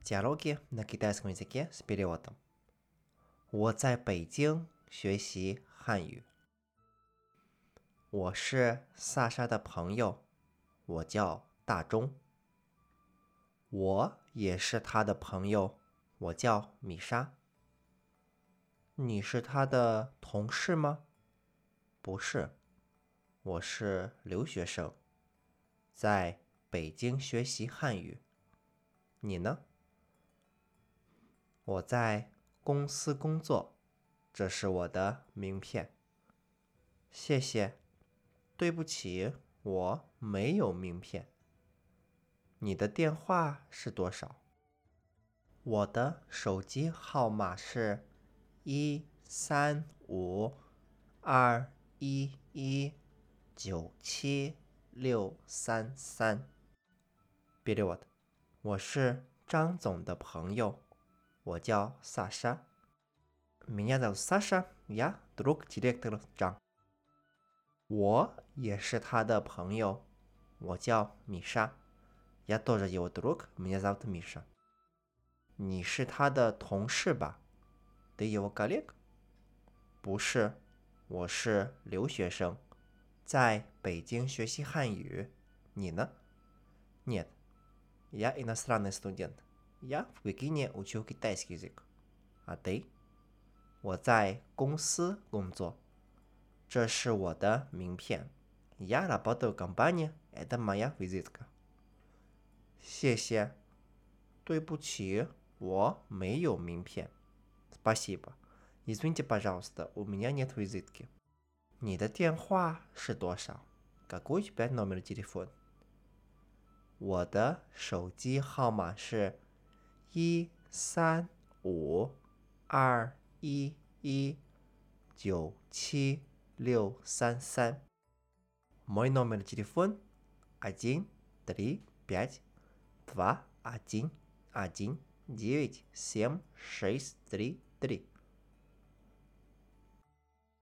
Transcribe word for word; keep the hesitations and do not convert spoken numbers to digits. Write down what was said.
Диалоги на китайском языке с переводом. 我在北京学习汉语。我是萨莎的朋友，我叫大钟。我也是他的朋友，我叫米莎。你是他的同事吗？不是，我是留学生，在北京学习汉语。你呢？我在公司工作，这是我的名片。谢谢，对不起，我没有名片。你的电话是多少？我的手机号码是一三五二一一九七六三三。Перевод. 我是张总的朋友，我叫萨莎。Меня зовут Саша, я друг директора Чжан。我也是他的朋友，我叫米莎。Я тоже его друг, меня зовут Миша。你是他的同事吧？ Ты его коллега？ 不是，我是留学生，在北京学习汉语。你呢？ Нет, я иностранный студент. Я в Пекине учу китайский язык. А ты？ 我在公司工作，这是我的名片。Я работаю в компании, это моя визитка。谢谢，对不起，我没有名片。Спасибо. Извините, пожалуйста, у меня нет визитки。你的电话是多少？ Какой у тебя номер телефона？ 我的手机号码是一三五二一一九七六三三。Мой номер телефона один три пять два один один девять семь шесть три три。